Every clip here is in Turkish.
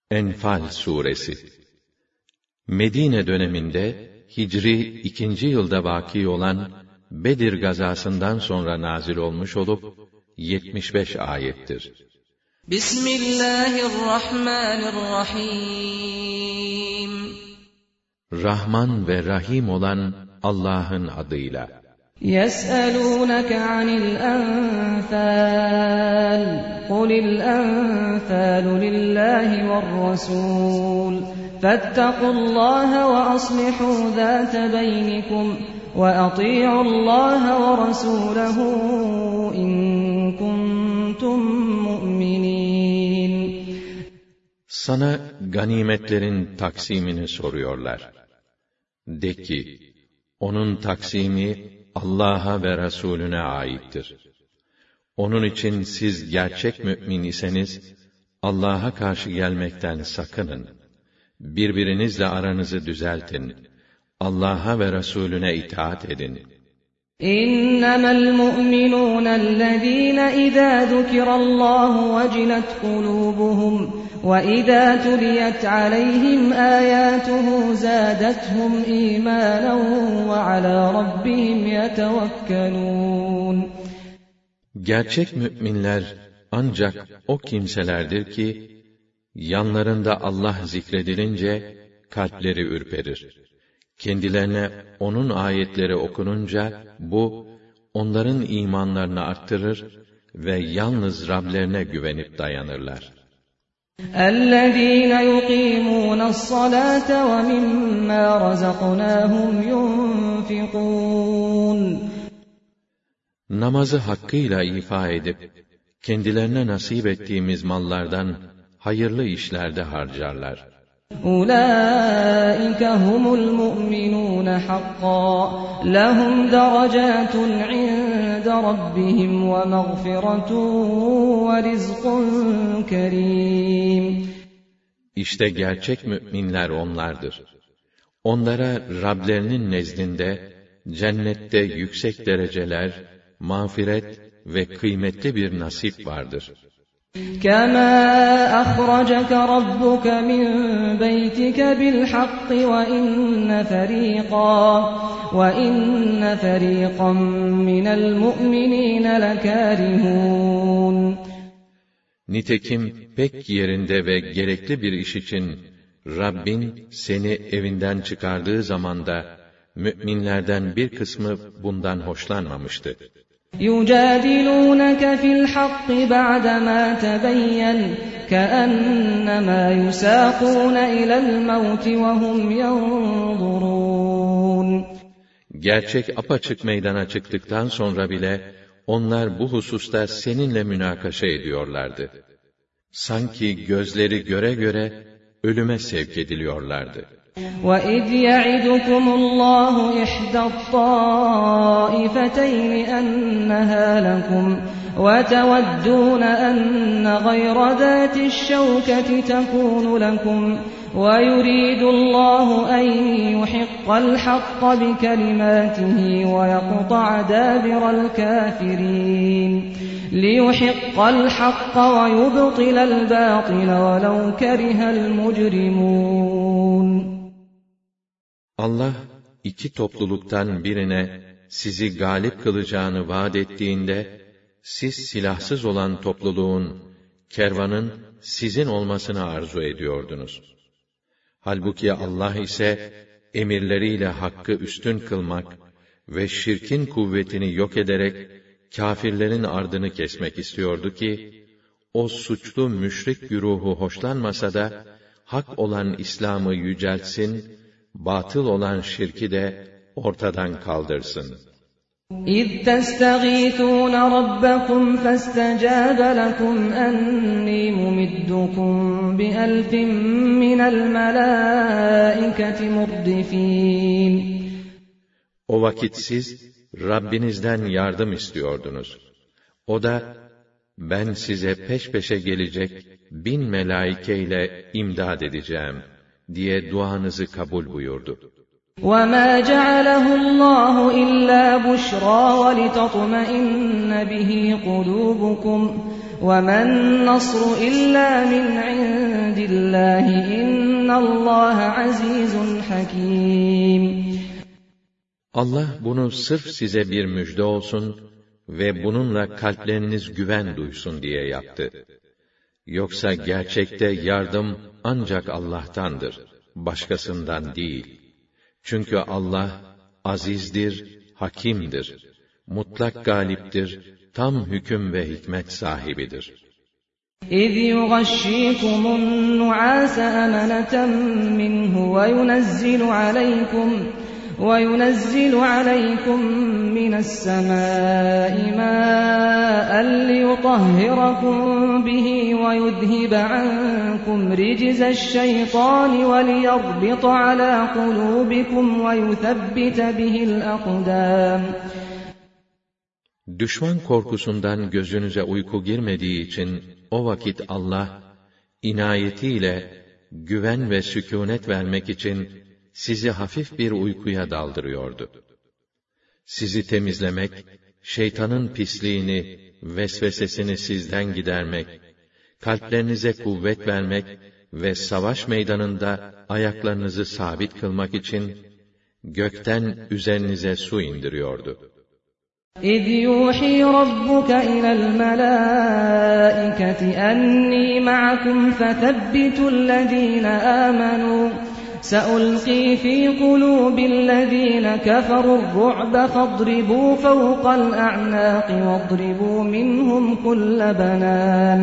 Enfal suresi. Medine döneminde Hicri 2. yılda vaki olan Bedir gazasından sonra nazil olmuş olup 75 ayettir. Bismillahirrahmanirrahim. Rahman ve Rahim olan Allah'ın adıyla. يَسْأَلُونَكَ عَنِ الْأَنْفَالِ قُلِ الْأَنْفَالُ لِلَّهِ وَالرَّسُولِ فَاتَّقُوا اللَّهَ وَأَصْلِحُوا ذَاتَ بَيْنِكُمْ وَأَطِيعُوا اللَّهَ وَرَسُولَهُ إِن كُنتُم مُّؤْمِنِينَ. Sana ganimetlerin taksimini soruyorlar. De ki, onun taksimi Allah'a ve Resulüne aittir. Onun için siz gerçek mümin iseniz, Allah'a karşı gelmekten sakının. Birbirinizle aranızı düzeltin. Allah'a ve Resulüne itaat edin. إِنَّمَا الْمُؤْمِنُونَ الَّذِينَ إِذَا ذُكِرَ اللَّهُ وَجِلَتْ قُلُوبُهُمْ وَإِذَا تُلِيَتْ عَلَيْهِمْ آيَاتُهُ زَادَتْهُمْ إِيمَانًا وَعَلَى رَبِّهِمْ يَتَوَكَّلُونَ. Gerçek müminler ancak o kimselerdir ki, yanlarında Allah zikredilince kalpleri ürperir. Kendilerine onun ayetleri okununca, bu, onların imanlarını arttırır ve yalnız Rablerine güvenip dayanırlar. اَلَّذ۪ينَ يُقِيمُونَ الصَّلَاةَ وَمِمَّا رَزَقْنَاهُمْ يُنْفِقُونَ. Namazı hakkıyla ifa edip, kendilerine nasip ettiğimiz mallardan hayırlı işlerde harcarlar. أُولَٰئِكَ هُمُ الْمُؤْمِنُونَ حَقًّا لَهُمْ دَرَجَاتٌ عِندَ رَبِّهِمْ وَمَغْفِرَةٌ وَرِزْقٌ كَرِيمٌ. İşte gerçek müminler onlardır. Onlara Rablerinin nezdinde cennette yüksek dereceler, mağfiret ve kıymetli bir nasip vardır. كَمَا أَخْرَجَكَ رَبُّكَ مِنْ بَيْتِكَ بِالْحَقِّ وَإِنَّ فَرِيقًا مِنَ الْمُؤْمِنِينَ لَكَارِهُونَ. Nitekim pek yerinde ve gerekli bir iş için Rabbin seni evinden çıkardığı zamanda müminlerden bir kısmı bundan hoşlanmamıştı. يُجَادِلُونَكَ فِي الْحَقِّ بَعْدَمَا تَبَيَّنَ كَأَنَّمَا يُسَاقُونَ إِلَى الْمَوْتِ وَهُمْ يَنْظُرُونَ. Gerçek apaçık meydana çıktıktan sonra bile onlar bu hususta seninle münakaşa ediyorlardı. Sanki gözleri göre göre ölüme sevk ediliyorlardı. وَإِذْ يَعِدُكُمُ اللَّهُ إِحْدَى الطَّائِفَتَيْنِ أَنَّهَا لَكُمْ وَتَوَدُّونَ أَنَّ غَيْرَ ذَاتِ الشَّوْكَةِ تَكُونُ لَكُمْ وَيُرِيدُ اللَّهُ أَن يُحِقَّ الْحَقَّ بِكَلِمَاتِهِ وَيَقْطَعَ دَابِرَ الْكَافِرِينَ لِيُحِقَّ الْحَقَّ وَيُبْطِلَ الْبَاطِلَ وَلَوْ كَرِهَ الْمُجْرِمُونَ. Allah iki topluluktan birine sizi galip kılacağını vaat ettiğinde, siz silahsız olan topluluğun, kervanın sizin olmasını arzu ediyordunuz. Halbuki Allah ise emirleriyle hakkı üstün kılmak ve şirkin kuvvetini yok ederek kâfirlerin ardını kesmek istiyordu ki, o suçlu müşrik güruhu hoşlanmasa da hak olan İslam'ı yüceltsin, batıl olan şirki de ortadan kaldırsın. إِذْ تَسْتَغِيثُونَ رَبَّكُمْ فَاسْتَجَابَ لَكُمْ أَنِّي مُمِدُّكُمْ بِأَلْفٍ مِّنَ الْمَلَائِكَةِ مُرْدِفِينَ. O vakit siz Rabbinizden yardım istiyordunuz. O da, ben size peş peşe gelecek 1000 melaike ile imdad edeceğim diye duanızı kabul buyurdu. وَمَا جَعَلَهُ اللَّهُ إِلَّا بُشْرَى وَلِتَطْمَئِنَّ بِهِ قُلُوبُكُمْ وَمَا النَّصْرُ إِلَّا مِنْ عِندِ اللّٰهِ اِنَّ اللّٰهَ عَز۪يزٌ حَك۪يمٌ. Allah bunu sırf size bir müjde olsun ve bununla kalpleriniz güven duysun diye yaptı. Yoksa gerçekte yardım ancak Allah'tandır, başkasından değil. Çünkü Allah azizdir, hakimdir, mutlak galiptir, tam hüküm ve hikmet sahibidir. اِذْ يُغَشِّيكُمُ النُّعَاسَ أَمَنَةً مِّنْهُ وَيُنَزِّلُ عَلَيْكُم مِّنَ السَّمَاءِ مَاءً لِّيُطَهِّرَكُم بِهِ وَيُذْهِبَ عَنكُمْ رِجْزَ الشَّيْطَانِ وَلِيَرْبِطَ عَلَىٰ قُلُوبِكُمْ وَيُثَبِّتَ بِهِ الْأَقْدَامَ. Düşman korkusundan gözünüze uyku girmediği için o vakit Allah, inayetiyle güven ve sükûnet vermek için sizi hafif bir uykuya daldırıyordu. Sizi temizlemek, şeytanın pisliğini, vesvesesini sizden gidermek, kalplerinize kuvvet vermek ve savaş meydanında ayaklarınızı sabit kılmak için gökten üzerinize su indiriyordu. اِذْ يُوحِي رَبُّكَ إِلَى الْمَلَائِكَةِ أَنِّي مَعَكُمْ فَثَبِّتُوا الَّذ۪ينَ آمَنُوا سَأُلْقِي فِي قُلُوبِ الَّذ۪ينَ كَفَرُوا الرُّعْبَ فَاضْرِبُوا فَوْقَ الْأَعْنَاقِ وَاضْرِبُوا مِنْهُمْ كُلَّ بَنَانٍ.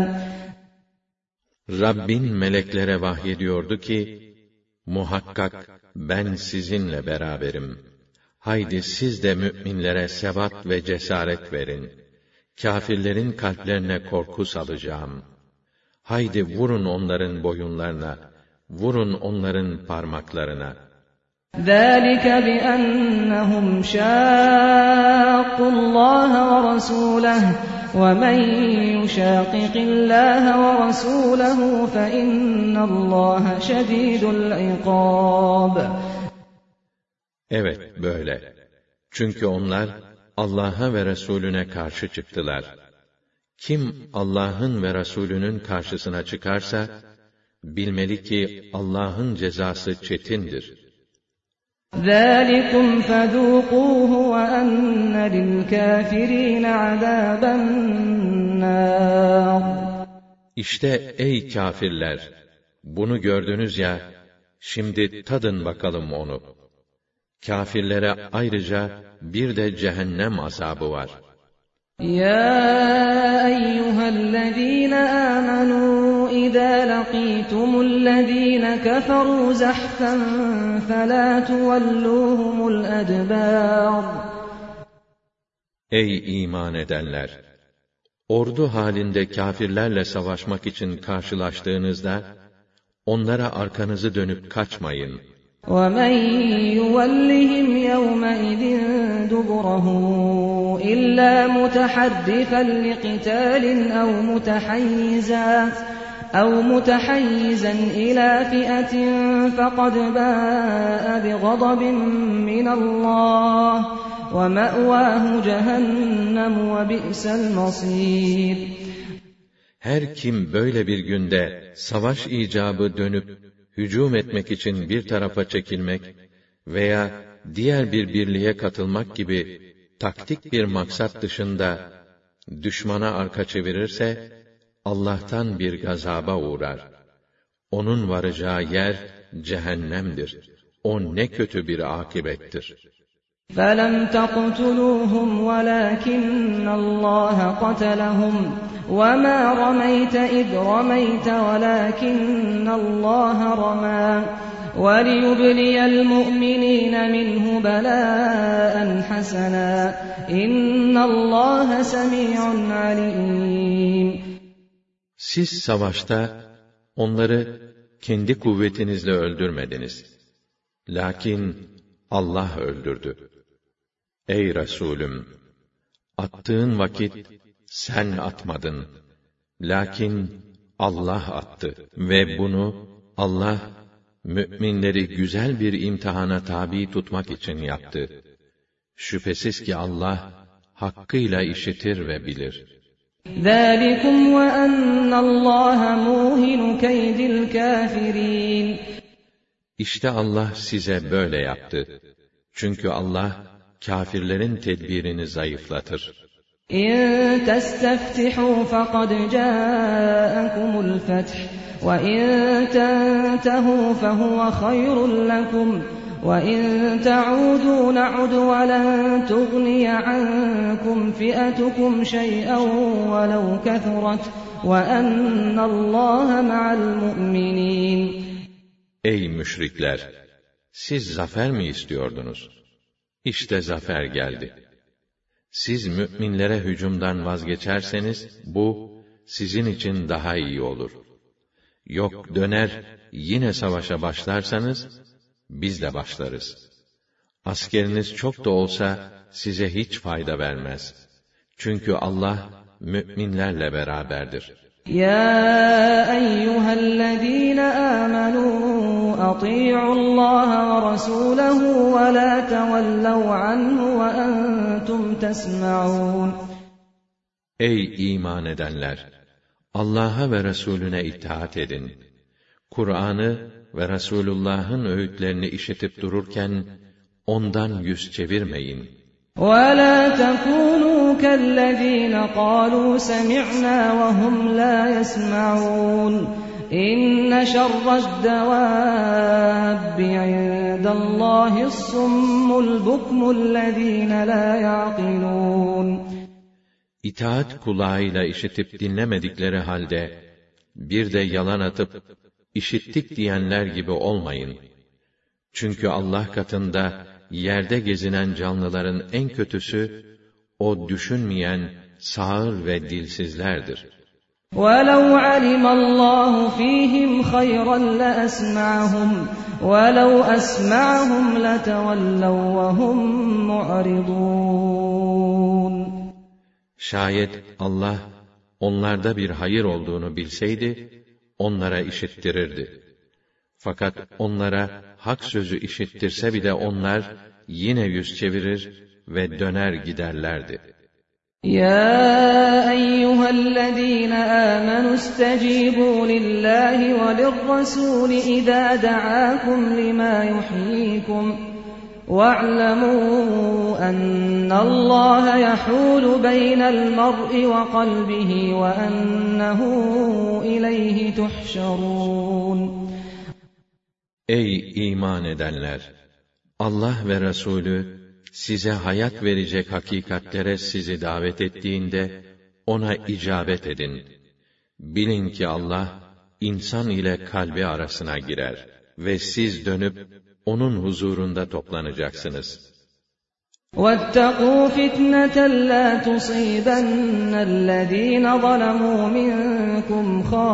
Rabbin meleklere vahyediyordu ki, muhakkak ben sizinle beraberim. Haydi siz de müminlere sebat ve cesaret verin. Kâfirlerin kalplerine korku salacağım. Haydi vurun onların boyunlarına, vurun onların parmaklarına. ذَٰلِكَ بِأَنَّهُمْ شَاقُّوا اللّٰهَ وَرَسُولَهُ وَمَنْ يُشَاقِقِ اللّٰهَ وَرَسُولَهُ فَإِنَّ اللّٰهَ شَد۪يدُ الْعِقَابِ. Evet, böyle. Çünkü onlar Allah'a ve Resulüne karşı çıktılar. Kim Allah'ın ve Resulünün karşısına çıkarsa, bilmeli ki Allah'ın cezası çetindir. ذَٰلِكُمْ فَذُوقُوهُ وَأَنَّ لِلْكَافِر۪ينَ عَذَابَ النَّارِ. İşte ey kâfirler! Bunu gördünüz ya, şimdi tadın bakalım onu. Kâfirlere ayrıca bir de cehennem azabı var. يَا أَيُّهَا الَّذ۪ينَ آمَنُوا إِذَا لَقِيتُمُ الَّذ۪ينَ كَفَرُوا زَحْفًا فَلَا تُوَلُّوهُمُ الْأَدْبَارَ. Ey iman edenler! Ordu halinde kâfirlerle savaşmak için karşılaştığınızda, onlara arkanızı dönüp kaçmayın. وَمَنْ يُوَلِّهِمْ يَوْمَئِذٍ دُبُرَهُ إِلَّا مُتَحَرِّفًا لِقِتَالٍ أَوْ مُتَحَيِّزًا إِلَى فِئَةٍ فَقَدْ بَاءَ بِغَضَبٍ مِّنَ اللّٰهِ وَمَأْوَاهُ جَهَنَّمُ وَبِئْسَ الْمَصِيرُ. Her kim böyle bir günde savaş icabı dönüp hücum etmek için bir tarafa çekilmek veya diğer bir birliğe katılmak gibi taktik bir maksat dışında düşmana arka çevirirse, Allah'tan bir gazaba uğrar. Onun varacağı yer cehennemdir. O ne kötü bir akibettir. فَلَمْ تَقْتُلُوهُمْ وَلَٰكِنَّ اللّٰهَ قَتَلَهُمْ وَمَا رَمَيْتَ إِذْ رَمَيْتَ وَلَٰكِنَّ اللّٰهَ رَمَىٰ وَلِيُبْلِيَ الْمُؤْمِنِينَ مِنْهُ بَلَاءً حَسَنًا إِنَّ اللّٰهَ سَمِيعٌ عَلِيمٌ. Siz savaşta onları kendi kuvvetinizle öldürmediniz. Lakin Allah öldürdü. Ey Resulüm! Attığın vakit sen atmadın. Lakin Allah attı. Ve bunu Allah, müminleri güzel bir imtihana tabi tutmak için yaptı. Şüphesiz ki Allah, hakkıyla işitir ve bilir. ذَٰلِكُمْ وَأَنَّ اللّٰهَ مُوهِنُ كَيْدِ الْكَافِرِينَ. İşte Allah size böyle yaptı. Çünkü Allah kâfirlerin tedbirini zayıflatır. إِن تَسْتَفْتِحُوا فَقَدْ جَاءَكُمُ الْفَتْحُ وَإِن تَنْتَهُوا فَهُوَ خَيْرٌ لَكُمْ وَإِن تَعُودُوا نَعُدْ وَلَن تُغْنِيَ عَنكُمْ فِئَتُكُمْ شَيْئًا وَلَوْ كَثُرَتْ وَأَنَّ اللّٰهَ مَعَ الْمُؤْمِنِينَ. Ey müşrikler! Siz zafer mi istiyordunuz? İşte zafer geldi. Siz müminlere hücumdan vazgeçerseniz, bu sizin için daha iyi olur. Yok döner, yine savaşa başlarsanız, biz de başlarız. Askeriniz çok da olsa, size hiç fayda vermez. Çünkü Allah, müminlerle beraberdir. يَا أَيُّهَا الَّذ۪ينَ آمَنُوا أَطِيعُوا اللّٰهَ وَرَسُولَهُ وَلَا تَوَلَّوْا عَنْهُ وَأَنْتُمْ تَسْمَعُونَ. Ey iman edenler! Allah'a ve Resulüne itaat edin. Kur'an'ı ve Resulullah'ın öğütlerini işitip dururken, ondan yüz çevirmeyin. وَلَا تَكُونُوا كَالَّذ۪ينَ قَالُوا سَمِعْنَا وَهُمْ لَا يَسْمَعُونَ. إِنَّ شَرَّ الدَّوَابِّ عِندَ اللّٰهِ الصُّمُّ الْبُكْمُ الَّذ۪ينَ لَا يَعْقِلُونَ. İtaat kulağıyla işitip dinlemedikleri halde, bir de yalan atıp, işittik diyenler gibi olmayın. Çünkü Allah katında, yerde gezinen canlıların en kötüsü, o düşünmeyen, sağır ve dilsizlerdir. وَلَوْ عَلِمَ اللّٰهُ ف۪يهِمْ خَيْرًا لَأَسْمَعَهُمْ وَلَوْ أَسْمَعَهُمْ لَتَوَلَّوْا وَهُمْ مُعْرِضُونَ. Şayet Allah, onlarda bir hayır olduğunu bilseydi, onlara işittirirdi. Fakat onlara hak sözü işittirse bile onlar, yine yüz çevirir ve döner giderlerdi. يَا أَيُّهَا الَّذ۪ينَ آمَنُوا اسْتَجِيبُوا لِلّٰهِ وَلِلرَّسُولِ إِذَا دَعَاكُمْ لِمَا يُحْيِيكُمْ وَاعْلَمُوا أَنَّ اللّٰهَ يَحُولُ بَيْنَ الْمَرْءِ وَقَلْبِهِ وَأَنَّهُ إِلَيْهِ تُحْشَرُونَ. Ey iman edenler! Allah ve Resulü, size hayat verecek hakikatlere sizi davet ettiğinde, ona icabet edin. Bilin ki Allah, insan ile kalbi arasına girer ve siz dönüp, onun huzurunda toplanacaksınız. وَاتَّقُوا فِتْنَةً لَا تُصِيبَنَّ الَّذ۪ينَ ظَلَمُوا مِنْكُمْ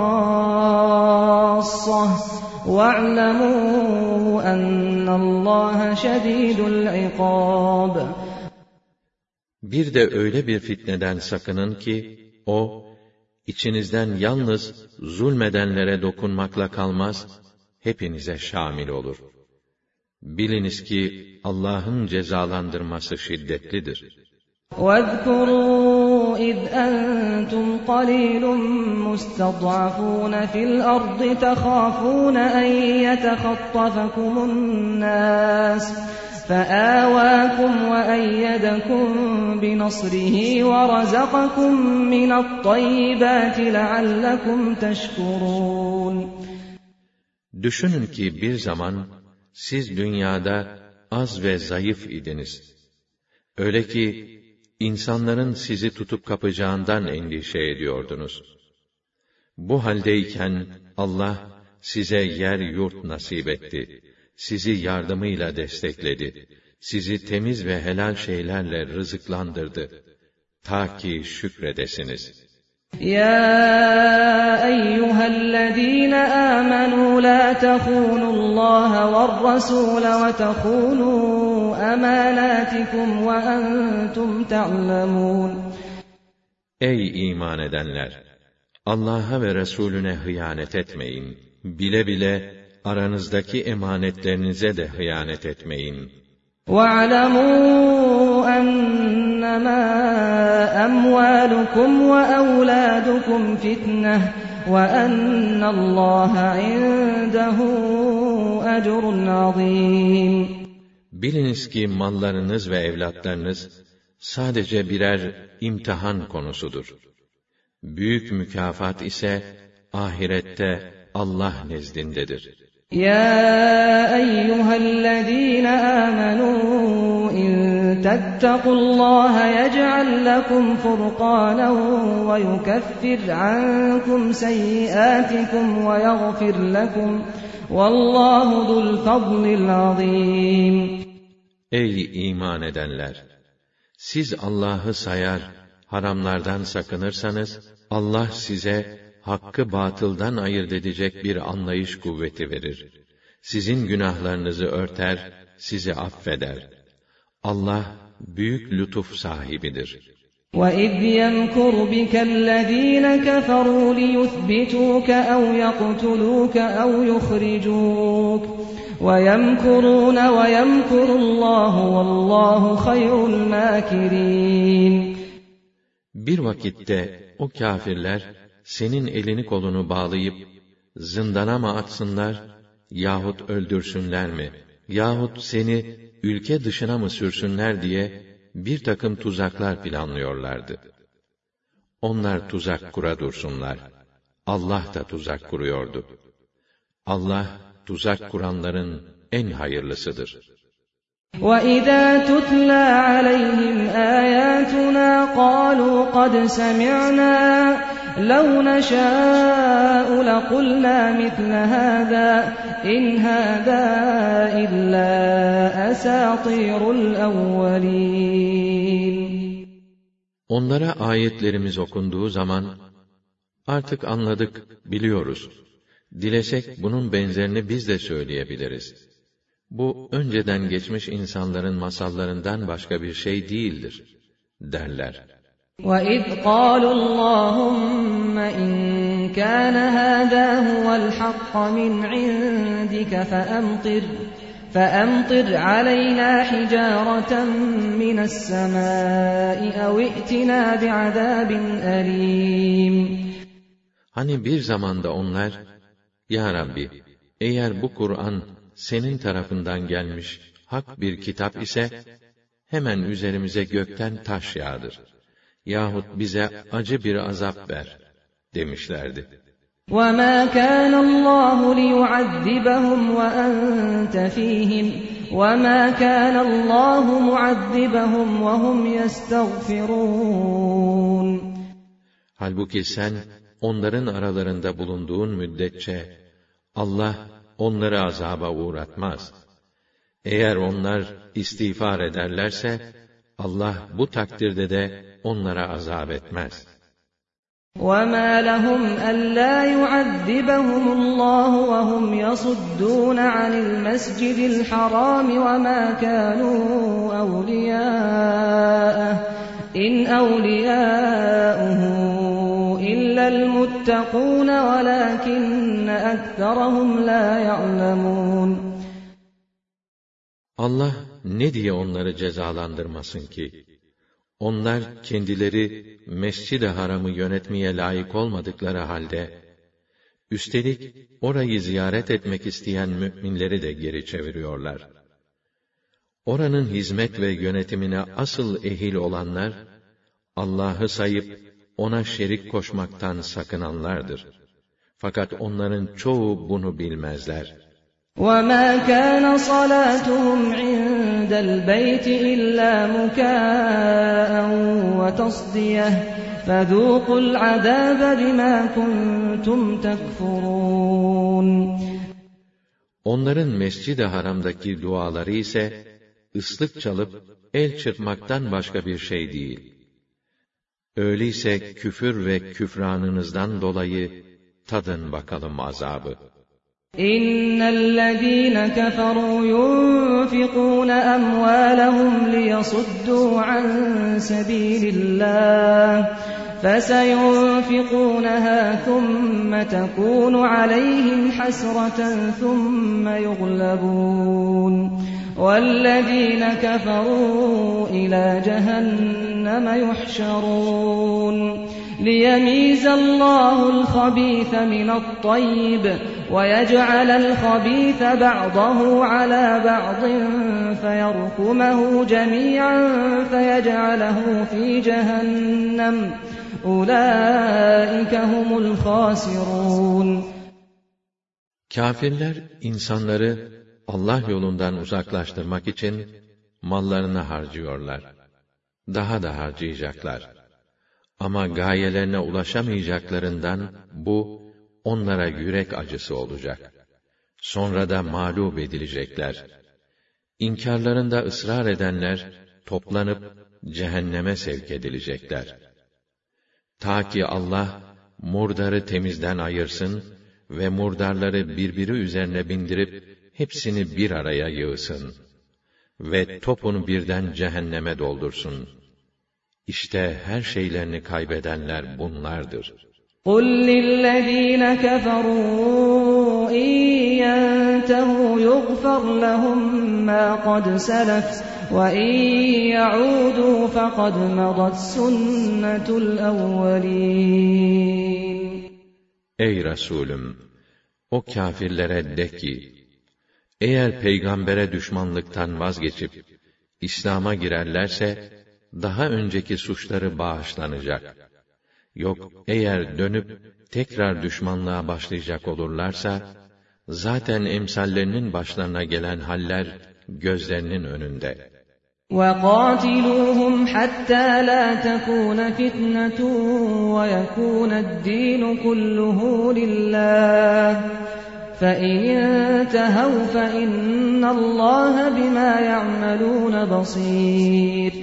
خَاصَّةً وَاعْلَمُوا أَنَّ اللّٰهَ شَد۪يدُ الْعِقَابِ. Bir de öyle bir fitneden sakının ki, o, içinizden yalnız zulmedenlere dokunmakla kalmaz, hepinize şamil olur. Biliniz ki, Allah'ın cezalandırması şiddetlidir. وَاذْكُرُوا إِذْ أَنْتُمْ قَلِيلٌ مُسْتَضْعَفُونَ فِي الْأَرْضِ تَخَافُونَ أَنْ يَتَخَطَّفَكُمُ النَّاسُ فَآوَاكُمْ وَأَيَّدَكُمْ بِنَصْرِهِ وَرَزَقَكُمْ مِنَ الطَّيِّبَاتِ لَعَلَّكُمْ تَشْكُرُونَ. Düşünün ki bir zaman, siz dünyada az ve zayıf idiniz. Öyle ki, insanların sizi tutup kapacağından endişe ediyordunuz. Bu haldeyken, Allah, size yer yurt nasip etti. Sizi yardımıyla destekledi. Sizi temiz ve helal şeylerle rızıklandırdı. Ta ki şükredesiniz. يَا أَيُّهَا الَّذ۪ينَ آمَنُوا لَا تَخُونُوا اللّٰهَ وَالرَّسُولَ وَتَخُونُوا أَمَانَاتِكُمْ وَأَنْتُمْ تَعْلَمُونَ. Ey iman edenler! Allah'a ve Resulüne hıyanet etmeyin. Bile bile aranızdaki emanetlerinize de hıyanet etmeyin. وَاعْلَمُوا أَنَّمَا أَمْوَالُكُمْ وَأَوْلَادُكُمْ فِتْنَةٌ وَأَنَّ اللّٰهَ عِندَهُ أَجْرٌ عَظِيمٌ. Biliniz ki mallarınız ve evlatlarınız sadece birer imtihan konusudur. Büyük mükafat ise ahirette Allah nezdindedir. يَا أَيُّهَا الَّذ۪ينَ آمَنُوا إِن تَتَّقُوا اللّٰهَ يَجْعَلْ لَكُمْ فُرْقَانًا وَيُكَفِّرْ عَنكُمْ سَيِّئَاتِكُمْ وَيَغْفِرْ لَكُمْ وَاللّٰهُ ذُو الْفَضْلِ الْعَظِيمِ. Ey iman edenler! Siz Allah'ı sayar, haramlardan sakınırsanız, Allah size hakkı batıldan ayırt edecek bir anlayış kuvveti verir. Sizin günahlarınızı örter, sizi affeder. Allah büyük lütuf sahibidir. وَإِذْ يَمْكُرُ بِكَ الَّذ۪ينَ كَفَرُوا لِيُثْبِتُوكَ أَوْ يَقْتُلُوكَ أَوْ يُخْرِجُوكَ وَيَمْكُرُونَ وَيَمْكُرُ اللّٰهُ وَاللّٰهُ خَيْرُ الْمَاكِرِينَ. Bir vakitte o kâfirler, senin elini kolunu bağlayıp, zindana mı atsınlar, yahut öldürsünler mi, yahut seni ülke dışına mı sürsünler diye, bir takım tuzaklar planlıyorlardı. Onlar tuzak kura dursunlar. Allah da tuzak kuruyordu. Allah, tuzak kuranların en hayırlısıdır. وَإِذَا تُتْلَى عَلَيْهِمْ آيَاتُنَا قَالُوا قَدْ سَمِعْنَا لَوْ نَشَاءُ لَقُلْنَا مِثْلَ هَذَا إِنْ هَذَا إِلَّا أَسَاطِيرُ الْأَوَّلِينَ. Onlara ayetlerimiz okunduğu zaman, artık anladık, biliyoruz. Dilesek bunun benzerini biz de söyleyebiliriz. Bu, önceden geçmiş insanların masallarından başka bir şey değildir, derler. وَإِذْ قَالُوا اللّٰهُمَّ إِنْ كَانَ هَذَا هُوَ الْحَقَّ مِنْ عِنْدِكَ فَأَمْطِرْ عَلَيْنَا حِجَارَةً مِنَ السَّمَاءِ أَوْ ائْتِنَا بِعَذَابٍ أَلِيمٍ. Hani bir zamanda onlar, Ya Rabbi, eğer bu Kur'an senin tarafından gelmiş hak bir kitap ise, hemen üzerimize gökten taş yağdır. Yahut bize acı bir azap ver, demişlerdi. وَمَا كَانَ اللّٰهُ لِيُعَذِّبَهُمْ وَأَنْتَ فِيهِمْ وَمَا كَانَ اللّٰهُ مُعَذِّبَهُمْ وَهُمْ يَسْتَغْفِرُونَ. Halbuki sen, onların aralarında bulunduğun müddetçe, Allah onları azaba uğratmaz. Eğer onlar istiğfar ederlerse, Allah bu takdirde de onlara azap etmez. وَمَا لَهُمْ أَلَّا يُعَذِّبَهُمُ اللّٰهُ وَهُمْ يَصُدُّونَ عَنِ الْمَسْجِدِ الْحَرَامِ وَمَا كَانُوا أَوْلِيَاءَهُ إِنْ أَوْلِيَاؤُهُ إِلَّا الْمُتَّقُونَ وَلَكِنَّ أَكْثَرَهُمْ لَا يَعْلَمُونَ. Allah ne diye onları cezalandırmasın ki? Onlar kendileri Mescid-i Haram'ı yönetmeye layık olmadıkları halde, üstelik orayı ziyaret etmek isteyen müminleri de geri çeviriyorlar. Oranın hizmet ve yönetimine asıl ehil olanlar, Allah'ı sayıp ona şerik koşmaktan sakınanlardır. Fakat onların çoğu bunu bilmezler. وَمَا كَانَ صَلَاتُهُمْ عِندَ الْبَيْتِ إِلَّا مُكَاءً وَتَصْدِيَةً فَذُوقُوا الْعَذَابَ بِمَا كُنْتُمْ تَكْفُرُونَ. Onların Mescid-i Haram'daki duaları ise, ıslık çalıp el çırpmaktan başka bir şey değil. Öyleyse küfür ve küfranınızdan dolayı tadın bakalım azabı. İnnellezîne keferû yunfikûne emvâlehum liyasuddû an sebîlillâh فسينفقونها ثم تكون عليهم حسرة ثم يغلبون والذين كفروا إلى جهنم يحشرون ليميز الله الخبيث من الطيب ويجعل الخبيث بعضه على بعض فيركمه جميعا فيجعله في جهنم أولئك هم الخاسرون. Kâfirler insanları Allah yolundan uzaklaştırmak için mallarını harcıyorlar. Daha da harcayacaklar. Ama gayelerine ulaşamayacaklarından bu onlara yürek acısı olacak. Sonra da mağlup edilecekler. İnkarlarında ısrar edenler toplanıp cehenneme sevk edilecekler. Ta ki Allah murdarı temizden ayırsın ve murdarları birbiri üzerine bindirip hepsini bir araya yığsın ve topunu birden cehenneme doldursun. İşte her şeylerini kaybedenler bunlardır. قُلْ لِلَّذ۪ينَ كَفَرُوا اِنْ يَنْتَهُوا يُغْفَرْ لَهُمْ مَا قَدْ سَلَفَ وَاِنْ يَعُودُوا فَقَدْ مَضَتْ سُنَّةُ الْاَوَّلِينَ. Ey Resulüm! O kâfirlere de ki, eğer peygambere düşmanlıktan vazgeçip İslam'a girerlerse daha önceki suçları bağışlanacak. Yok eğer dönüp tekrar düşmanlığa başlayacak olurlarsa zaten emsallerinin başlarına gelen haller gözlerinin önünde. وَقَاتِلُوهُمْ حَتَّى لَا تَكُونَ فِتْنَةٌ وَيَكُونَ الدِّينُ كُلُّهُ لِلَّهِ فَإِنِ انْتَهَوْا فَإِنَّ اللّٰهَ بِمَا يَعْمَلُونَ بَصِيرٌ.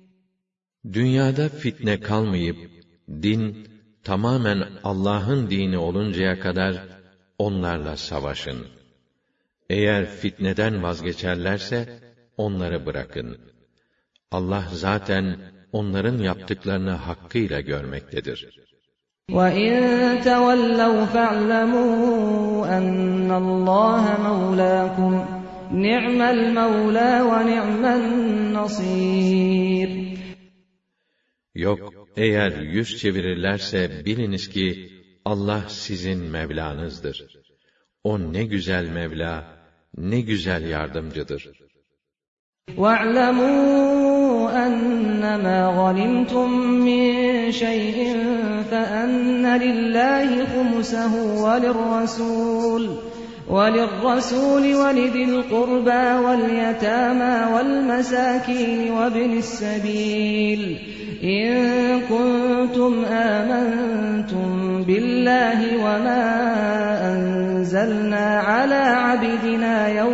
Dünyada fitne kalmayıp, din tamamen Allah'ın dini oluncaya kadar onlarla savaşın. Eğer fitneden vazgeçerlerse onları bırakın. Allah zaten onların yaptıklarını hakkıyla görmektedir. وَاِنْ تَوَلَّوْا فَاعْلَمُوا أَنَّ اللّٰهَ مَوْلَاكُمْ نِعْمَ الْمَوْلَى وَنِعْمَ النَّصِيرُ. Yok, eğer yüz çevirirlerse biliniz ki Allah sizin Mevlanızdır. O ne güzel Mevla, ne güzel yardımcıdır. وَاعْلَمُوا أَنَّمَا غَنِمْتُم مِّن شَيْءٍ فَأَنَّ لِلَّهِ خُمُسَهُ وَلِلرَّسُولِ وَلِذِي الْقُرْبَى وَالْيَتَامَى وَالْمَسَاكِينِ وَابْنِ السَّبِيلِ إِن كُنتُمْ آمَنتُم بِاللَّهِ وَمَا أَنزَلْنَا عَلَىٰ عَبْدِنَا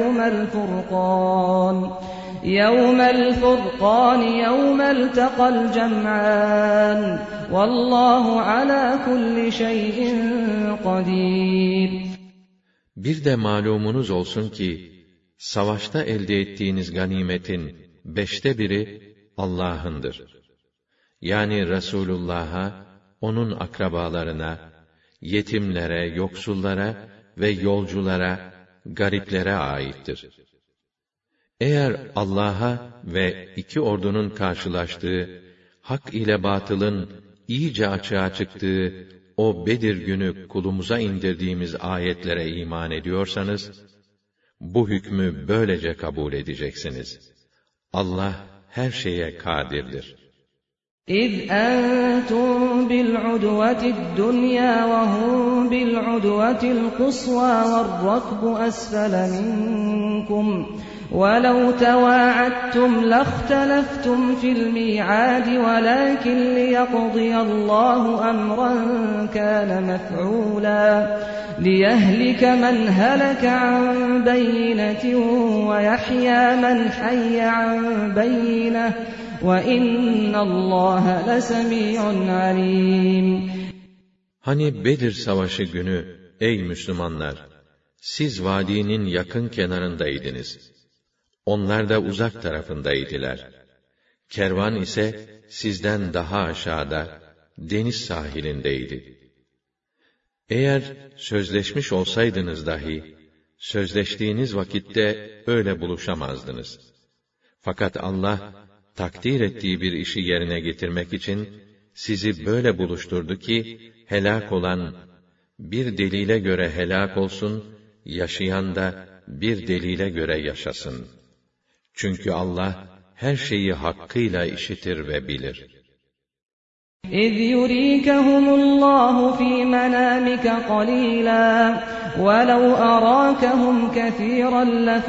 يَوْمَ الْفُرْقَانِ يَوْمَ الْتَقَى الْجَمْعَانِ وَاللّٰهُ عَلَىٰ كُلِّ شَيْءٍ قَدِيرٌ. Bir de malumunuz olsun ki, savaşta elde ettiğiniz ganimetin 1/5 Allah'ındır. Yani Resulullah'a, onun akrabalarına, yetimlere, yoksullara ve yolculara, gariplere aittir. Eğer Allah'a ve iki ordunun karşılaştığı, hak ile batılın iyice açığa çıktığı o Bedir günü kulumuza indirdiğimiz ayetlere iman ediyorsanız, bu hükmü böylece kabul edeceksiniz. Allah her şeye kadirdir. إِذْ أَنْتُمْ بِالْعُدْوَةِ الدُّنْيَا وَهُمْ بِالْعُدْوَةِ الْقُصْوَى وَالرَّكْبُ أَسْفَلَ مِنْكُمْ وَلَوْ تَوَاعَدتُّمْ لَاخْتَلَفْتُمْ فِي الْمِيعَادِ وَلَكِنْ لِيَقْضِيَ اللَّهُ أَمْرًا كَانَ مَفْعُولًا لِيَهْلِكَ مَنْ هَلَكَ عَنْ بَيِّنَةٍ وَيَحْيَى مَنْ حَيَّ عَنْ بَيِّنَةٍ وَإِنَّ اللّٰهَ لَسَمِيعٌ عَلِيمٌ. Hani Bedir Savaşı günü, ey Müslümanlar, siz vadinin yakın kenarındaydınız. Onlar da uzak tarafındaydılar. Kervan ise sizden daha aşağıda, deniz sahilindeydi. Eğer sözleşmiş olsaydınız dahi, sözleştiğiniz vakitte öyle buluşamazdınız. Fakat Allah, takdir ettiği bir işi yerine getirmek için, sizi böyle buluşturdu ki, helak olan, bir delile göre helak olsun, yaşayan da bir delile göre yaşasın. Çünkü Allah, her şeyi hakkıyla işitir ve bilir. إِذْ يُرِيكَهُمُ اللَّهُ فِي مَنَامِكَ قَلِيلًا وَلَوْ أَرَاكَهُمْ كَثِيرًا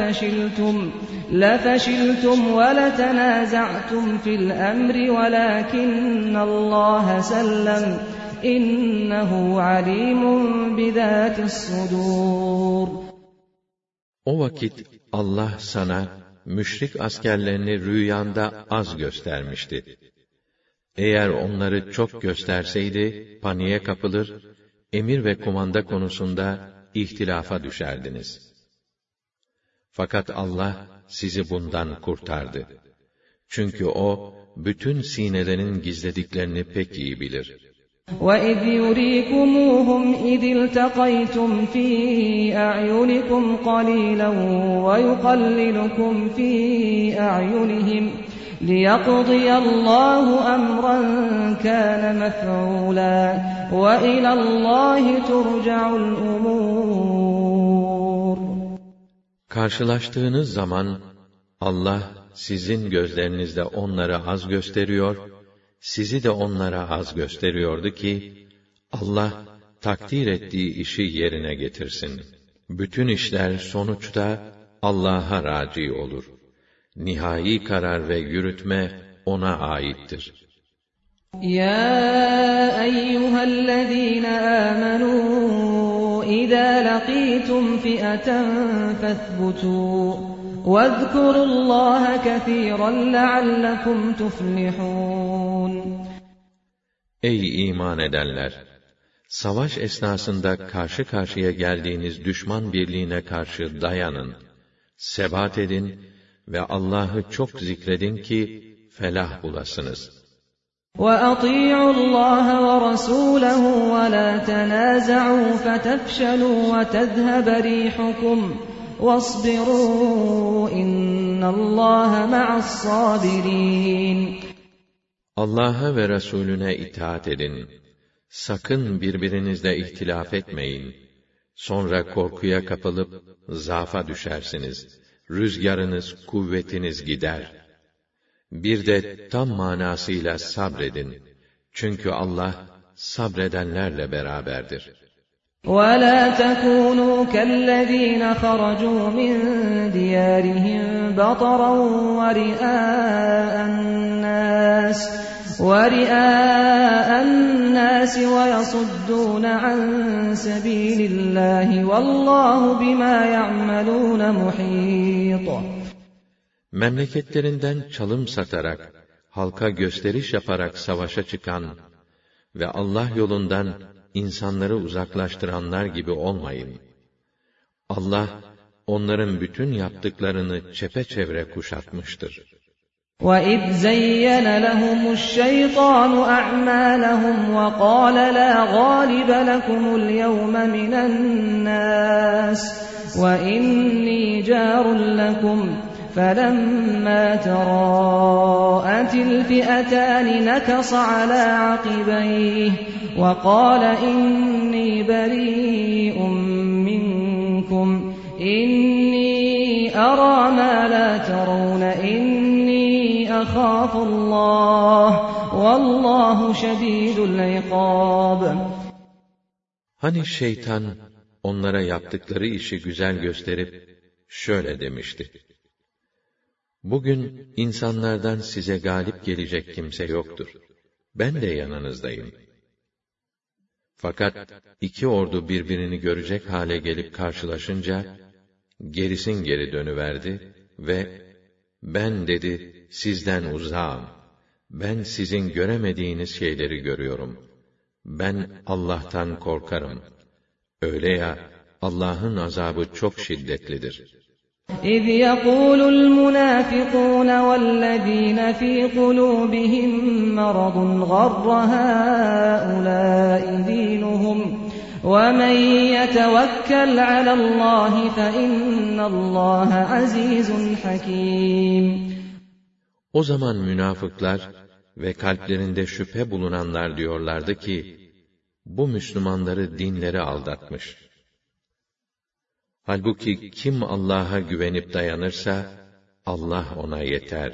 لَفَشِلْتُمْ وَلَتَنَازَعْتُمْ فِي الْأَمْرِ وَلَكِنَّ اللَّهَ سَلَّمَ إِنَّهُ عَلِيمٌ بِذَاتِ الصُّدُورِ. O vakit Allah sana müşrik askerlerini rüyanda az göstermişti. Eğer onları çok gösterseydi, paniğe kapılır, emir ve kumanda konusunda ihtilafa düşerdiniz. Fakat Allah sizi bundan kurtardı. Çünkü O, bütün sinelerin gizlediklerini pek iyi bilir. وَإِذْ يُرِيكُمُوهُمْ إِذِ الْتَقَيْتُمْ فِي أَعْيُنِكُمْ قَلِيلًا وَيُقَلِّلُكُمْ فِي أَعْيُنِهِمْ لِيَقْضِيَ اللَّهُ أَمْرًا كَانَ مَفْعُولًا وَإِلَى اللَّهِ تُرْجَعُ الْأُمُورُ. Karşılaştığınız zaman Allah sizin gözlerinizde onları az gösteriyor, sizi de onlara az gösteriyordu ki, Allah takdir ettiği işi yerine getirsin. Bütün işler sonuçta Allah'a raci olur. Nihai karar ve yürütme O'na aittir. يَا أَيُّهَا الَّذِينَ آمَنُوا إِذَا لَقِيتُمْ فِئَةً فَاثْبُتُوا وَاذْكُرُوا اللَّهَ كَثِيرًا لَعَلَّكُمْ تُفْلِحُونَ. Ey iman edenler! Savaş esnasında karşı karşıya geldiğiniz düşman birliğine karşı dayanın, sebat edin ve Allah'ı çok zikredin ki felah bulasınız. وَأَطِيعُوا اللَّهَ وَرَسُولَهُ وَلَا تَنَازَعُوا فَتَفْشَلُوا وَتَذْهَبَ رِيحُكُمْ وَاصْبِرُوا إِنَّ اللَّهَ مَعَ الصَّابِرِينَ. Allah'a ve Resulüne itaat edin. Sakın birbirinizle ihtilaf etmeyin. Sonra korkuya kapılıp zaafa düşersiniz. Rüzgarınız, kuvvetiniz gider. Bir de tam manasıyla sabredin. Çünkü Allah sabredenlerle beraberdir. وَلَا تَكُونُوا كَالَّذِينَ خَرَجُوا مِنْ دِيَارِهِمْ بَطَرًا وَرِئَاءَ النَّاسِ وَيَصُدُّونَ عَنْ سَبِيلِ اللَّهِ وَاللَّهُ بِمَا يَعْمَلُونَ مُحِيطٌ. Memleketlerinden çalım satarak, halka gösteriş yaparak savaşa çıkan ve Allah yolundan insanları uzaklaştıranlar gibi olmayın. Allah, onların bütün yaptıklarını çepeçevre kuşatmıştır. وَإِذْ زَيَّنَ لَهُمُ الشَّيْطَانُ أَعْمَالَهُمْ وَقَالَ لَا غَالِبَ لَكُمُ الْيَوْمَ مِنَ النَّاسِ وَإِنِّي جَارٌ لَكُمْ فَلَمَّا تَرَاءَتِ الْفِئَتَانِ نَكَصَ عَلَى عَقِبَيْهِ وَقَالَ إِنِّي بَرِيءٌ مِّنكُمْ إِنِّي أَرَىٰ مَا لَا تَرَوْنَ إِنِّي أَخَافُ اللَّهَ وَاللّٰهُ شَدِيدُ الْعِقَابِ. Hani şeytan onlara yaptıkları işi güzel gösterip şöyle demişti: Bugün insanlardan size galip gelecek kimse yoktur. Ben de yanınızdayım. Fakat iki ordu birbirini görecek hale gelip karşılaşınca, gerisin geri dönüverdi ve ben dedi, sizden uzağım. Ben sizin göremediğiniz şeyleri görüyorum. Ben Allah'tan korkarım. Öyle ya, Allah'ın azabı çok şiddetlidir. إذ يقول المنافقون والذين في قلوبهم مرض غر هؤلاء دينهم ومن يتوكل على الله فإن الله عزيز حكيم. O zaman münafıklar ve kalplerinde şüphe bulunanlar diyorlardı ki, bu Müslümanları dinleri aldatmış. Halbuki kim Allah'a güvenip dayanırsa, Allah ona yeter.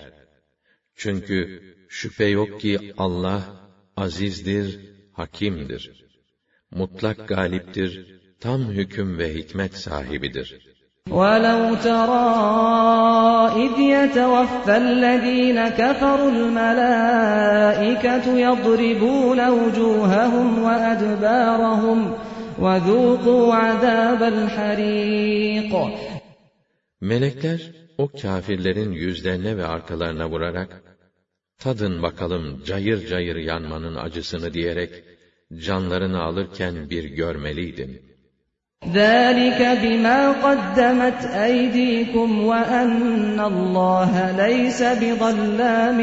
Çünkü şüphe yok ki Allah azizdir, hakimdir. Mutlak galiptir, tam hüküm ve hikmet sahibidir. وَلَوْ تَرَى إِذْ يَتَوَفَّى الَّذ۪ينَ كَفَرُوا الْمَلَائِكَةُ يَضْرِبُونَ وُجُوهَهُمْ وَأَدْبَارَهُمْ وَذُوقُوا عَذَابَ الْحَرِيقِ. Melekler o kâfirlerin yüzlerine ve arkalarına vurarak, tadın bakalım cayır cayır yanmanın acısını diyerek, canlarını alırken bir görmeliydin. ذَٰلِكَ بِمَا قَدَّمَتْ أَيْدِيكُمْ وَأَنَّ اللّٰهَ لَيْسَ بِظَلَّامٍ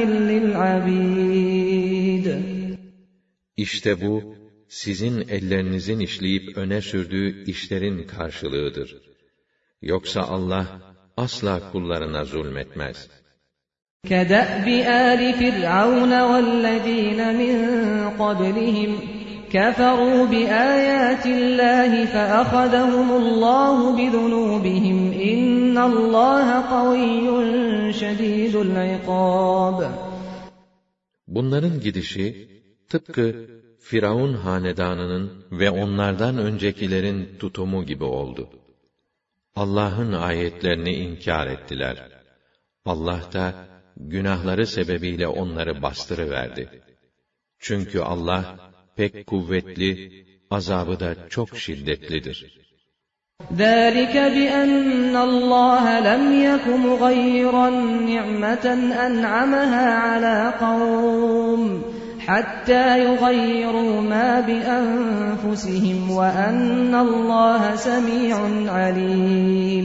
لِلْعَبِيدِ. İşte bu, sizin ellerinizin işleyip öne sürdüğü işlerin karşılığıdır. Yoksa Allah asla kullarına zulmetmez. كَدَأْبِ آلِ فِرْعَوْنَ وَالَّذ۪ينَ مِنْ قَبْلِهِمْ كَفَرُوا بِآيَاتِ اللّٰهِ فَأَخَذَهُمُ اللّٰهُ بِذُنُوبِهِمْ اِنَّ اللّٰهَ قَوِيٌّ شَد۪يدُ الْعِقَابِ. Bunların gidişi, tıpkı Firavun hanedanının ve onlardan öncekilerin tutumu gibi oldu. Allah'ın ayetlerini inkar ettiler. Allah da günahları sebebiyle onları bastırıverdi. Çünkü Allah pek kuvvetli, azabı da çok şiddetlidir. ذَٰلِكَ بِأَنَّ اللّٰهَ لَمْ يَكُ مُغَيِّرًا نِعْمَةً أَنْعَمَهَا عَلَى قَوْمٍ حَتَّى يُغَيِّرُوا مَا بِأَنفُسِهِمْ وَأَنَّ اللّٰهَ سَمِيعٌ عَلِيمٌ.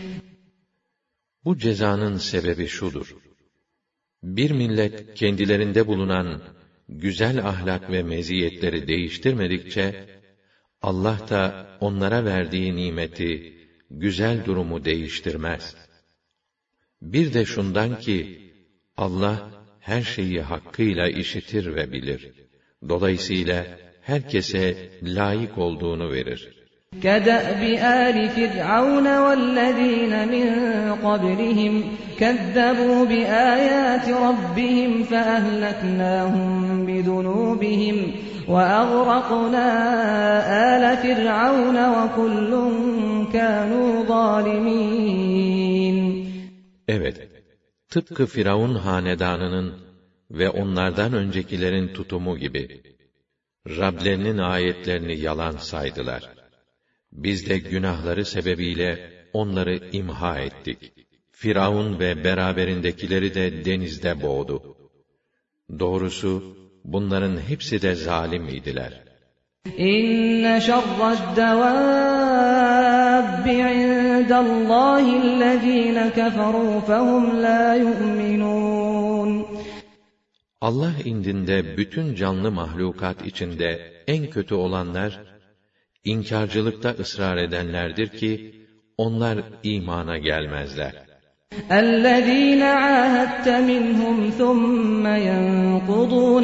Bu cezanın sebebi şudur: bir millet kendilerinde bulunan güzel ahlak ve meziyetleri değiştirmedikçe, Allah da onlara verdiği nimeti, güzel durumu değiştirmez. Bir de şundan ki, Allah her şeyi hakkıyla işitir ve bilir. Dolayısıyla herkese layık olduğunu verir. كَدَأْبِ آلِ فِرْعَوْنَ وَالَّذ۪ينَ مِنْ قَبْلِهِمْ كَذَّبُوا بِآيَاتِ رَبِّهِمْ فَأَهْلَكْنَاهُمْ بِذُنُوبِهِمْ وَأَغْرَقْنَا آلَ فِرْعَوْنَ وَكُلٌّ كَانُوا ظَالِمِينَ. Evet, tıpkı Firavun hanedanının ve onlardan öncekilerin tutumu gibi, Rablerinin ayetlerini yalan saydılar. Biz de günahları sebebiyle onları imha ettik. Firavun ve beraberindekileri de denizde boğdu. Doğrusu bunların hepsi de zalim idiler. İnne şerre'd-devâbbi indallâhillezîne keferû fehum lâ yu'minûn. Allah indinde bütün canlı mahlukat içinde en kötü olanlar, İnkarcılıkta ısrar edenlerdir ki, onlar imana gelmezler. اَلَّذ۪ينَ عَاهَدْتَ مِنْهُمْ ثُمَّ يَنْقُضُونَ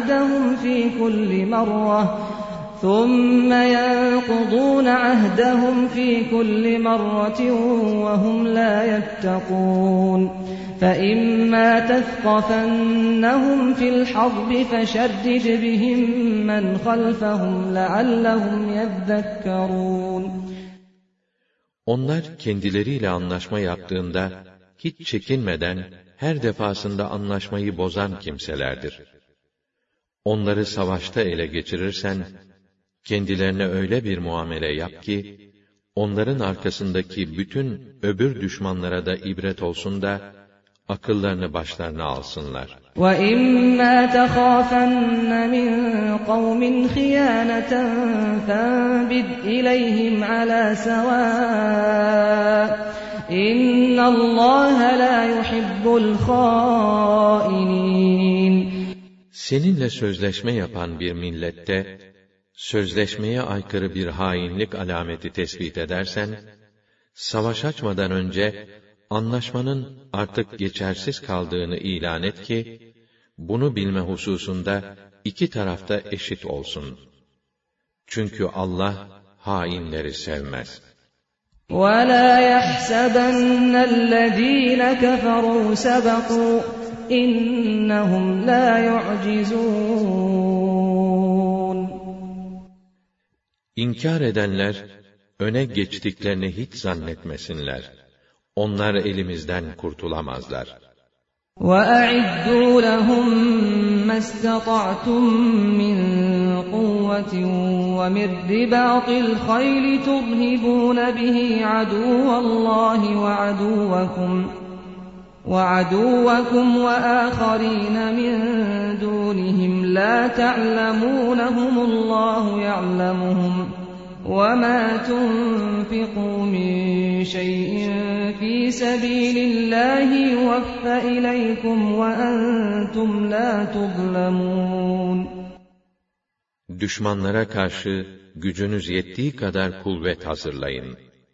عَهْدَهُمْ ف۪ي كُلِّ مَرَّةٍ وَهُمْ لَا يَتَّقُونَ فَإِمَّا تَثْقَفَنَّهُمْ فِي الْحَرْبِ فَشَرِّدْ بِهِمْ مَنْ خَلْفَهُمْ لَعَلَّهُمْ يَذَّكَّرُونَ. Onlar kendileriyle anlaşma yaptığında, hiç çekinmeden, her defasında anlaşmayı bozan kimselerdir. Onları savaşta ele geçirirsen, kendilerine öyle bir muamele yap ki, onların arkasındaki bütün öbür düşmanlara da ibret olsun da, akıllarını başlarına alsınlar. وَإِمَّا تَخَافَنَّ مِنْ قَوْمٍ خِيَانَةً فَانبِذْ إِلَيْهِمْ عَلَى سَوَاءٍ إِنَّ اللّٰهَ لَا يُحِبُّ الْخَائِنِينَ. Seninle sözleşme yapan bir millette, sözleşmeye aykırı bir hainlik alameti tespit edersen, savaş açmadan önce, anlaşmanın artık geçersiz kaldığını ilan et ki, bunu bilme hususunda iki tarafta eşit olsun. Çünkü Allah hainleri sevmez. وَلَا يَحْسَبَنَّ الَّذ۪ينَ كَفَرُوا سَبَقُوا اِنَّهُمْ لَا يُعْجِزُونَ. İnkar edenler, öne geçtiklerini hiç zannetmesinler. Onlar elimizden kurtulamazlar. وَأَعِدُّوا لَهُم مَّا اسْتَطَعْتُم مِّن قُوَّةٍ وَمِن رِّبَاطِ الْخَيْلِ تُرْهِبُونَ بِهِ عَدُوَّ اللَّهِ وَعَدُوَّكُمْ وَآخَرِينَ مِن دُونِهِمْ لَا تَعْلَمُونَهُمُ اللَّهُ يَعْلَمُهُمْ وَمَا تُنفِقُوا مِن شَيْءٍ فِي سَبِيلِ اللّٰهِ يُوَفَّ إِلَيْكُمْ وَأَنْتُمْ لَا تُظْلَمُونَ. Düşmanlara karşı gücünüz yettiği kadar kuvvet hazırlayın.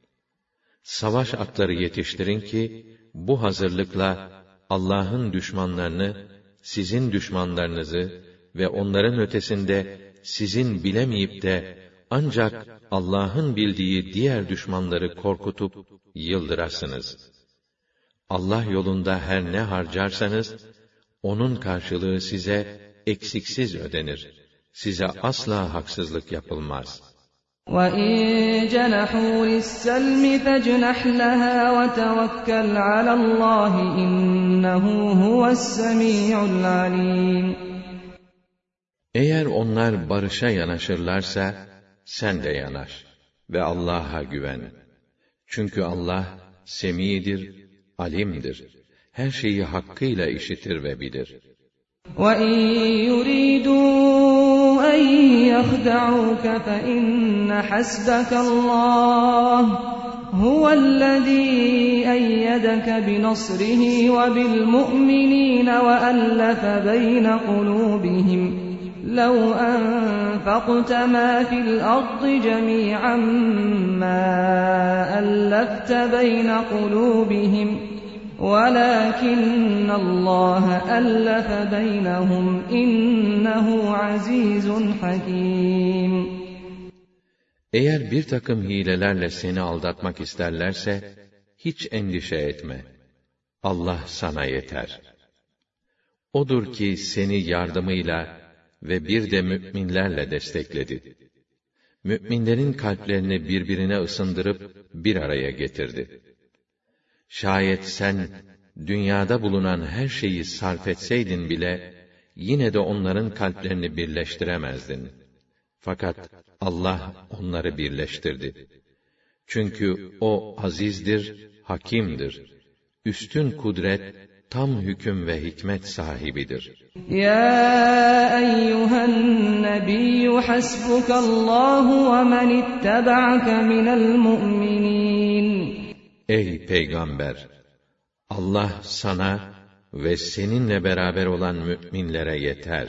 Savaş atları yetiştirin ki, bu hazırlıkla Allah'ın düşmanlarını, sizin düşmanlarınızı ve onların ötesinde sizin bilemeyip de ancak Allah'ın bildiği diğer düşmanları korkutup yıldırasınız. Allah yolunda her ne harcarsanız, onun karşılığı size eksiksiz ödenir. Size asla haksızlık yapılmaz. وَإِن جَنَحُوا لِلسَّلْمِ فَاجْنَحْ لَهَا وَتَوَكَّلْ عَلَى اللّٰهِ إِنَّهُ هُوَ السَّمِيعُ الْعَلِيمُ. Eğer onlar barışa yanaşırlarsa, sen de yanaş ve Allah'a güven. Çünkü Allah, semidir, alimdir. Her şeyi hakkıyla işitir ve bilir. وَإِن يُرِيدُوا أَن يَخْدَعُوكَ فَإِنَّ حَسْبَكَ اللّٰهُ هُوَ الَّذ۪ي أَيَّدَكَ بِنَصْرِهِ وَبِالْمُؤْمِنِينَ وَأَلَّفَ بَيْنَ قُلُوبِهِمْ لَوْ أَنفَقْتَ مَا فِي الْأَرْضِ جَمِيعًا مَا أَلَّفْتَ بَيْنَ قُلُوبِهِمْ وَلَكِنَّ اللّٰهَ أَلَّفَ بَيْنَهُمْ إِنَّهُ عَز۪يزٌ حَك۪يمٌ. Eğer bir takım hilelerle seni aldatmak isterlerse, hiç endişe etme. Allah sana yeter. Odur ki seni yardımıyla ve bir de mü'minlerle destekledi. Mü'minlerin kalplerini birbirine ısındırıp bir araya getirdi. Şayet sen, dünyada bulunan her şeyi sarf etseydin bile, yine de onların kalplerini birleştiremezdin. Fakat Allah onları birleştirdi. Çünkü O azizdir, hakimdir. Üstün kudret, tam hüküm ve hikmet sahibidir. Ya eyyühen nebiyyü hasbukallahu ve men ittaba'ake minel mu'minin. Ey Peygamber! Allah sana ve seninle beraber olan müminlere yeter.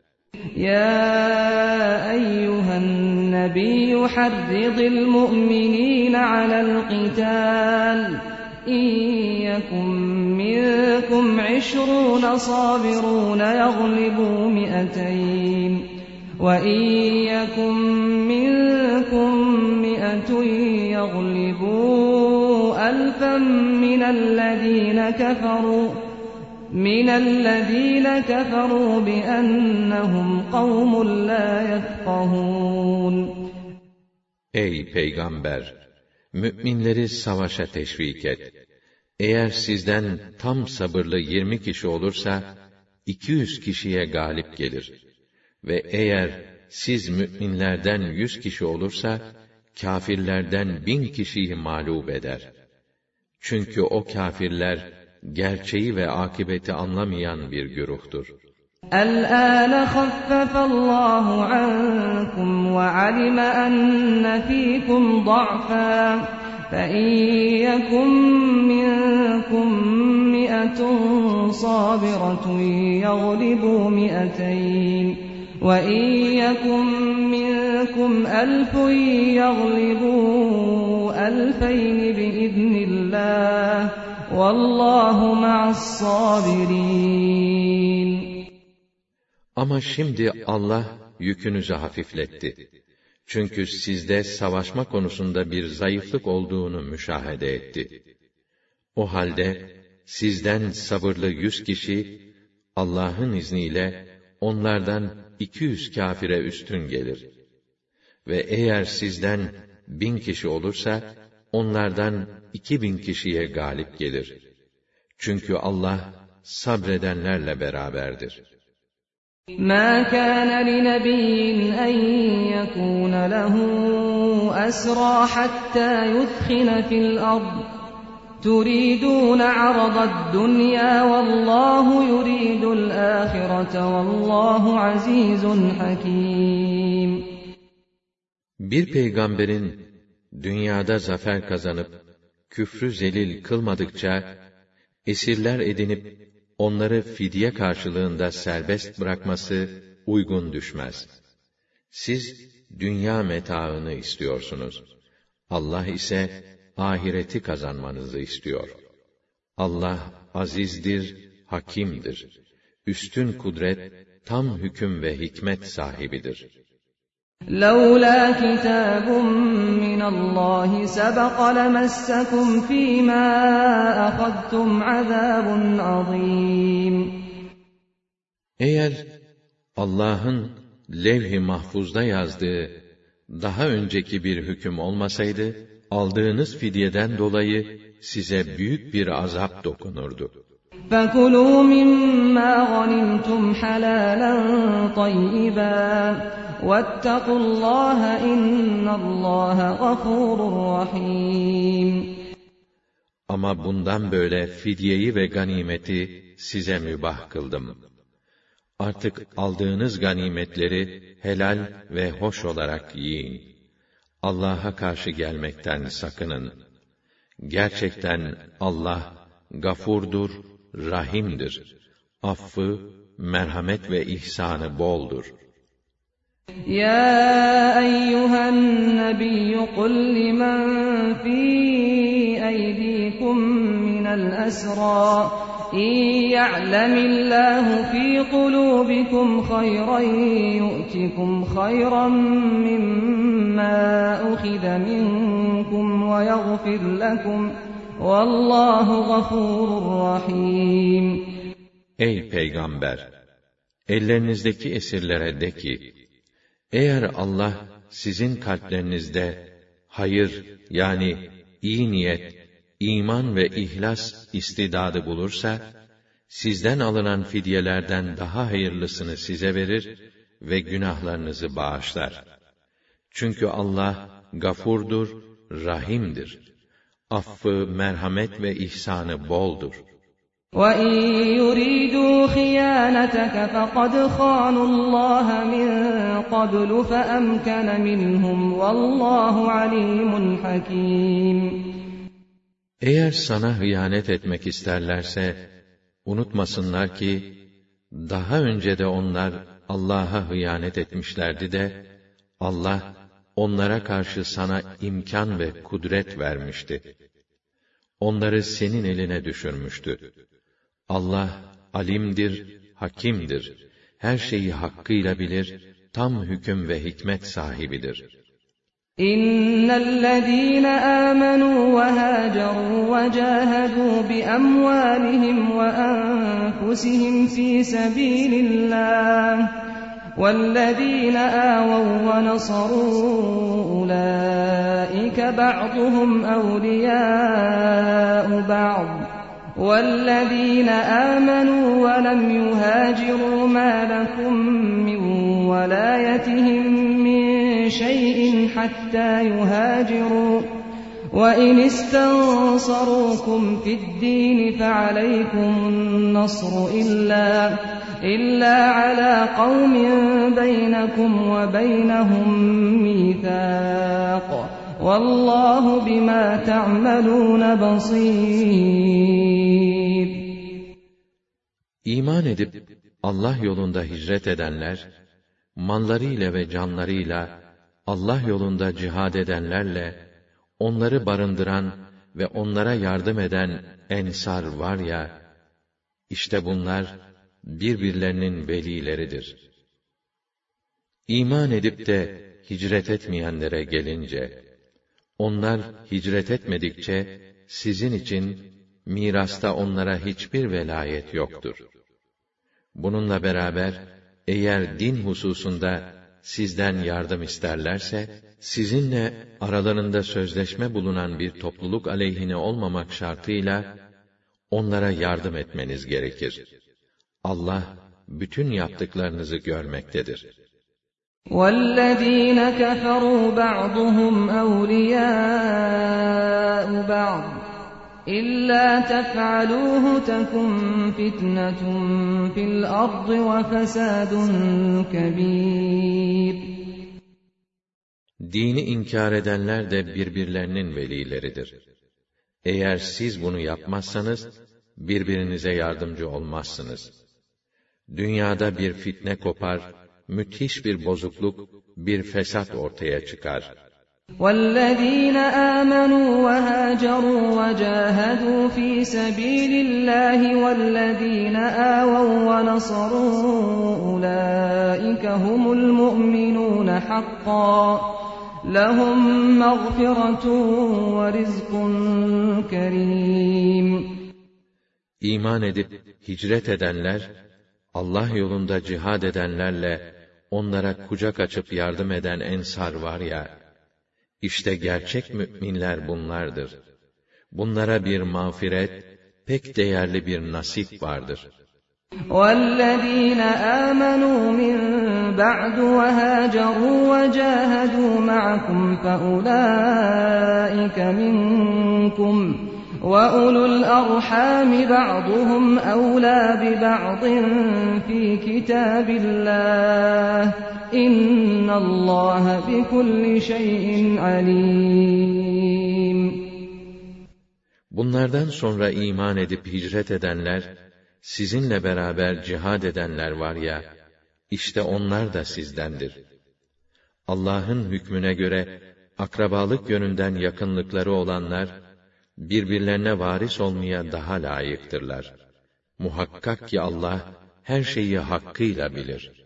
Ya eyyühen nebiyyü harridil mu'minîne alel qitâl. İn yekum minkum 20 sabirun yaglibu mi'ateyn. Ve in yekum minkum mi'atun yaglibu ألفا من الذين كفروا بأنهم قوم لا يفقهون. Ey Peygamber! Mü'minleri savaşa teşvik et. Eğer sizden tam sabırlı 20 kişi olursa, 200 kişiye galip gelir. Ve eğer siz mü'minlerden 100 kişi olursa, kâfirlerden 1000 kişiyi mağlup eder. Çünkü o kâfirler, gerçeği ve akıbeti anlamayan bir güruhtur. الْآنَ خَفَّفَ اللّٰهُ عَنْكُمْ وَعَلِمَ أَنَّ فِيكُمْ ضَعْفًا فَإِنْ يَكُنْ مِنْكُمْ فئة صابرة يغلبوا 200 وإن يكن منكم 1000 يغلبوا 2000 بإذن الله والله مع الصابرين. Ama şimdi Allah yükünüzü hafifletti. Çünkü sizde savaşma konusunda bir zayıflık olduğunu müşahede etti. O halde sizden sabırlı 100 kişi Allah'ın izniyle onlardan 200 kâfire üstün gelir. Ve eğer sizden 1000 kişi olursa onlardan 2000 kişiye galip gelir. Çünkü Allah sabredenlerle beraberdir. مَا كَانَ لِنَبِيٍّ أَن يَكُونَ لَهُ أَسْرَىٰ حَتَّىٰ يُثْخِنَ فِي الْأَرْضِ تُرِيدُونَ عَرَضَ الدُّنْيَا وَاللَّهُ يُرِيدُ الْآخِرَةَ وَاللّٰهُ عَزِيزٌ حَكِيمٌ. Bir peygamberin dünyada zafer kazanıp küfrü zelil kılmadıkça esirler edinip onları fidye karşılığında serbest bırakması uygun düşmez. Siz dünya metaını istiyorsunuz. Allah ise ahireti kazanmanızı istiyor. Allah azizdir, hakimdir. Üstün kudret, tam hüküm ve hikmet sahibidir. لَوْلَا كِتَابٌ مِّنَ اللّٰهِ سَبَقَ لَمَسَّكُمْ فِي مَا أَخَذْتُمْ عَذَابٌ عَظِيمٌ. Eğer Allah'ın levh-i mahfuzda yazdığı daha önceki bir hüküm olmasaydı, aldığınız fidyeden dolayı size büyük bir azap dokunurdu. فَكُلُوا مِمَّا غَنِمْتُمْ حَلَالًا طَيِّبًا وَاتَّقُوا اللّٰهَ اِنَّ اللّٰهَ غَفُورٌ رَحِيمٌ. Ama bundan böyle fidyeyi ve ganimeti size mübah kıldım. Artık aldığınız ganimetleri helal ve hoş olarak yiyin. Allah'a karşı gelmekten sakının. Gerçekten Allah gafurdur, rahimdir. Affı, merhamet ve ihsanı boldur. يا أيها النبي قل لمن في أيديكم من الأسرى إن يعلم الله في قلوبكم خيرا يؤتكم خيرا مما أخذ منكم ويغفر لكم والله غفور رحيم. Ey Peygamber! Ellerinizdeki esirlere de ki, eğer Allah sizin kalplerinizde hayır yani iyi niyet, iman ve ihlas istidadı bulursa, sizden alınan fidyelerden daha hayırlısını size verir ve günahlarınızı bağışlar. Çünkü Allah gafurdur, rahimdir. Affı, merhamet ve ihsanı boldur. وَإِن يُرِيدُوا خِيَانَتَكَ فَقَدْ خَانُوا اللّٰهَ مِنْ قَبْلُ فَأَمْكَنَ مِنْهُمْ وَاللّٰهُ عَلِيمٌ حَكِيمٌ. Eğer sana hıyanet etmek isterlerse, unutmasınlar ki, daha önce de onlar Allah'a hıyanet etmişlerdi de, Allah onlara karşı sana imkan ve kudret vermişti. Onları senin eline düşürmüştü. Allah alimdir, hakimdir. Her şeyi hakkıyla bilir, tam hüküm ve hikmet sahibidir. İnnellezîne âmenû ve hâcerû ve câhedû bi emvâlihim ve enfusihim fî sebîlillâh وَالَّذ۪ينَ آوَوْا وَنَصَرُوا أُولَٰئِكَ بَعْضُهُمْ أَوْلِيَاءُ بَعْضٍ وَالَّذ۪ينَ آمَنُوا وَلَمْ يُهَاجِرُوا مَا لَكُمْ مِنْ وَلَايَتِهِمْ مِنْ شَيْءٍ حَتَّى يُهَاجِرُوا وَإِنِ اسْتَنْصَرُوكُمْ فِي الدِّينِ فَعَلَيْكُمُ النَّصْرُ إِلَّا عَلَى قَوْمٍ بَيْنَكُمْ وَبَيْنَهُمْ مِيثَاقٌ وَاللّٰهُ بِمَا تَعْمَلُونَ بَصِيرٌ. İman edip Allah yolunda hicret edenler, mallarıyla ve canlarıyla Allah yolunda cihad edenlerle, onları barındıran ve onlara yardım eden ensar var ya, işte bunlar birbirlerinin velileridir. İman edip de hicret etmeyenlere gelince, onlar hicret etmedikçe sizin için mirasta onlara hiçbir velayet yoktur. Bununla beraber eğer din hususunda sizden yardım isterlerse, sizinle aralarında sözleşme bulunan bir topluluk aleyhine olmamak şartıyla onlara yardım etmeniz gerekir. Allah bütün yaptıklarınızı görmektedir. وَالَّذ۪ينَ كَفَرُوا بَعْضُهُمْ أَوْلِيَاءُ بَعْضٍ إِلَّا تَفْعَلُوهُ تَكُنْ فِتْنَةٌ فِي الْأَرْضِ وَفَسَادٌ كَبِيرٌ. Dini inkar edenler de birbirlerinin velileridir. Eğer siz bunu yapmazsanız, birbirinize yardımcı olmazsınız. Dünyada bir fitne kopar, müthiş bir bozukluk, bir fesat ortaya çıkar. وَالَّذ۪ينَ آمَنُوا وَهَاجَرُوا وَجَاهَدُوا ف۪ي سَب۪يلِ اللّٰهِ وَالَّذ۪ينَ آوَوْا وَنَصَرُوا أُولَٰئِكَ هُمُ الْمُؤْمِنُونَ حَقًّا لَهُمْ مَغْفِرَةٌ وَرِزْقٌ كَرِيمٌ. İman edip hicret edenler, Allah yolunda cihad edenlerle onlara kucak açıp yardım eden ensar var ya, İşte gerçek müminler bunlardır. Bunlara bir mağfiret, pek değerli bir nasip vardır. وَالَّذ۪ينَ آمَنُوا مِنْ بَعْدُ وَهَاجَرُوا وَجَاهَدُوا مَعَكُمْ فَأُولَٰئِكَ مِنْكُمْ وَأُولُو الْأَرْحَامِ بَعْضُهُمْ أَوْلَى بِبَعْضٍ فِي كِتَابِ اللّٰهِ إِنَّ اللّٰهَ بِكُلِّ شَيْءٍ عَلِيمٌ. Bunlardan sonra iman edip hicret edenler, sizinle beraber cihad edenler var ya, işte onlar da sizdendir. Allah'ın hükmüne göre, akrabalık yönünden yakınlıkları olanlar, birbirlerine varis olmaya daha layıktırlar. Muhakkak ki Allah, her şeyi hakkıyla bilir.